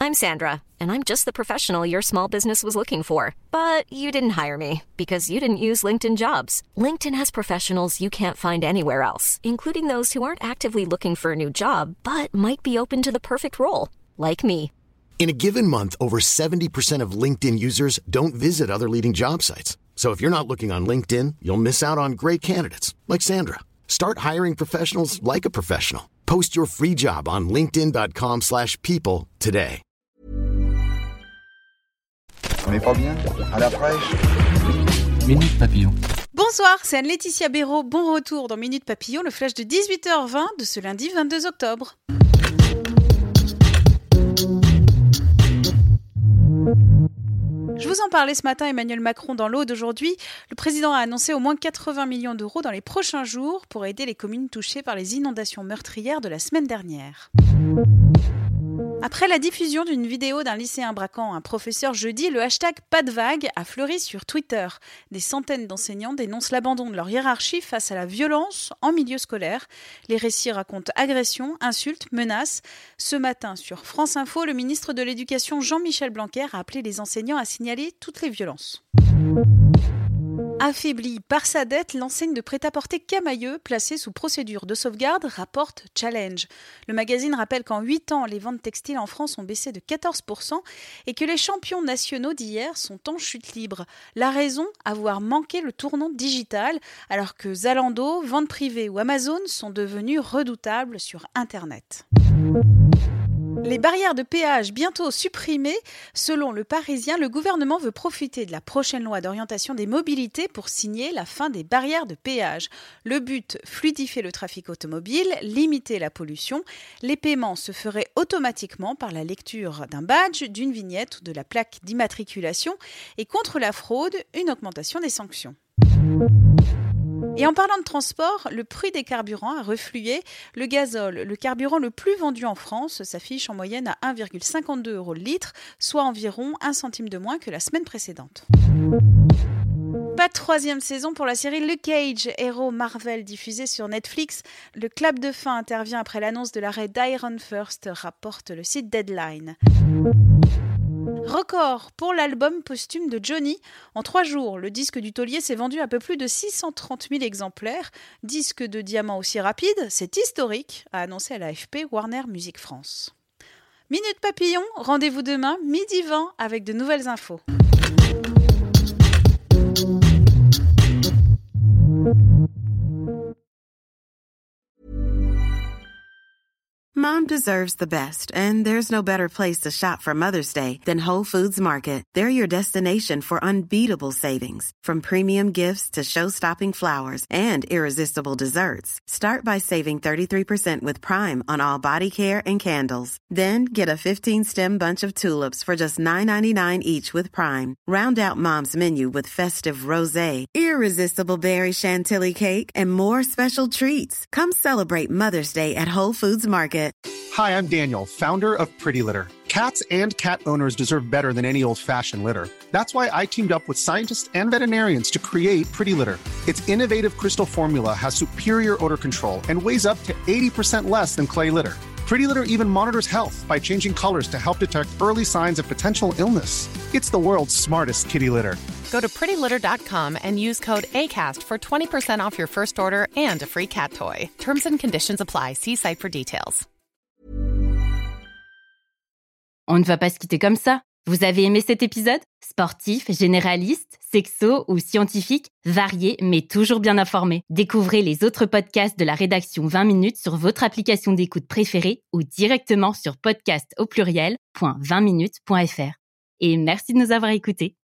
I'm Sandra, and I'm just the professional your small business was looking for. But you didn't hire me because you didn't use LinkedIn Jobs. LinkedIn has professionals you can't find anywhere else, including those who aren't actively looking for a new job, but might be open to the perfect role, like me. In a given month, over 70% of LinkedIn users don't visit other leading job sites. So if you're not looking on LinkedIn, you'll miss out on great candidates like Sandra. Start hiring professionals like a professional. Post your free job on linkedin.com/people today. On n'est pas bien? À la fraîche? Minute Papillon. Bonsoir, c'est Anne-Laetitia Béraud. Bon retour dans Minute Papillon, le flash de 18h20 de ce lundi 22 octobre. Je vous en parlais ce matin, Emmanuel Macron dans l'Aude d'aujourd'hui. Le président a annoncé au moins 80 millions d'euros dans les prochains jours pour aider les communes touchées par les inondations meurtrières de la semaine dernière. Après la diffusion d'une vidéo d'un lycéen braquant un professeur jeudi, le hashtag #PasDeVague a fleuri sur Twitter. Des centaines d'enseignants dénoncent l'abandon de leur hiérarchie face à la violence en milieu scolaire. Les récits racontent agressions, insultes, menaces. Ce matin, sur France Info, le ministre de l'Éducation Jean-Michel Blanquer a appelé les enseignants à signaler toutes les violences. Affaiblie par sa dette, l'enseigne de prêt-à-porter Camaïeu, placée sous procédure de sauvegarde, rapporte Challenge. Le magazine rappelle qu'en 8 ans, les ventes textiles en France ont baissé de 14% et que les champions nationaux d'hier sont en chute libre. La raison, avoir manqué le tournant digital, alors que Zalando, Vente Privée ou Amazon sont devenus redoutables sur Internet. Les barrières de péage bientôt supprimées. Selon Le Parisien, le gouvernement veut profiter de la prochaine loi d'orientation des mobilités pour signer la fin des barrières de péage. Le but, fluidifier le trafic automobile, limiter la pollution. Les paiements se feraient automatiquement par la lecture d'un badge, d'une vignette ou de la plaque d'immatriculation. Et contre la fraude, une augmentation des sanctions. Et en parlant de transport, le prix des carburants a reflué. Le gazole, le carburant le plus vendu en France, s'affiche en moyenne à 1,52 € le litre, soit environ 1 centime de moins que la semaine précédente. Pas de 3e saison pour la série Luke Cage, héros Marvel diffusé sur Netflix. Le clap de fin intervient après l'annonce de l'arrêt d'Iron First, rapporte le site Deadline. Record pour l'album posthume de Johnny. En 3 jours, le disque du taulier s'est vendu à peu plus de 630 000 exemplaires. Disque de diamant aussi rapide, c'est historique, a annoncé à l'AFP Warner Music France. Minute Papillon, rendez-vous demain, 12h20 avec de nouvelles infos. Mom deserves the best, and there's no better place to shop for Mother's Day than Whole Foods Market. They're your destination for unbeatable savings, from premium gifts to show-stopping flowers and irresistible desserts. Start by saving 33% with Prime on all body care and candles. Then get a 15-stem bunch of tulips for just $9.99 each with Prime. Round out Mom's menu with festive rosé, irresistible berry chantilly cake, and more special treats. Come celebrate Mother's Day at Whole Foods Market. Hi, I'm Daniel, founder of Pretty Litter. Cats and cat owners deserve better than any old-fashioned litter. That's why I teamed up with scientists and veterinarians to create Pretty Litter. Its innovative crystal formula has superior odor control and weighs up to 80% less than clay litter. Pretty Litter even monitors health by changing colors to help detect early signs of potential illness. It's the world's smartest kitty litter. Go to prettylitter.com and use code ACAST for 20% off your first order and a free cat toy. Terms and conditions apply. See site for details. On ne va pas se quitter comme ça. Vous avez aimé cet épisode ? Sportif, généraliste, sexo ou scientifique, varié mais toujours bien informé. Découvrez les autres podcasts de la rédaction 20 minutes sur votre application d'écoute préférée ou directement sur podcast@20minutes.fr. Et merci de nous avoir écoutés.